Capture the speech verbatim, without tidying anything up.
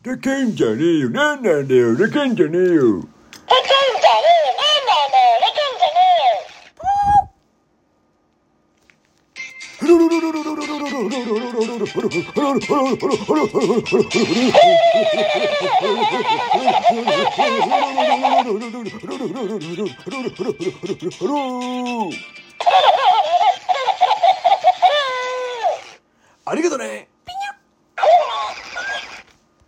でけんじゃねえよ。なんなんだよ。でけんじゃねえよ。でけんじゃねえよ。なんなんだよ。でけんじゃねえよ。ありがとね。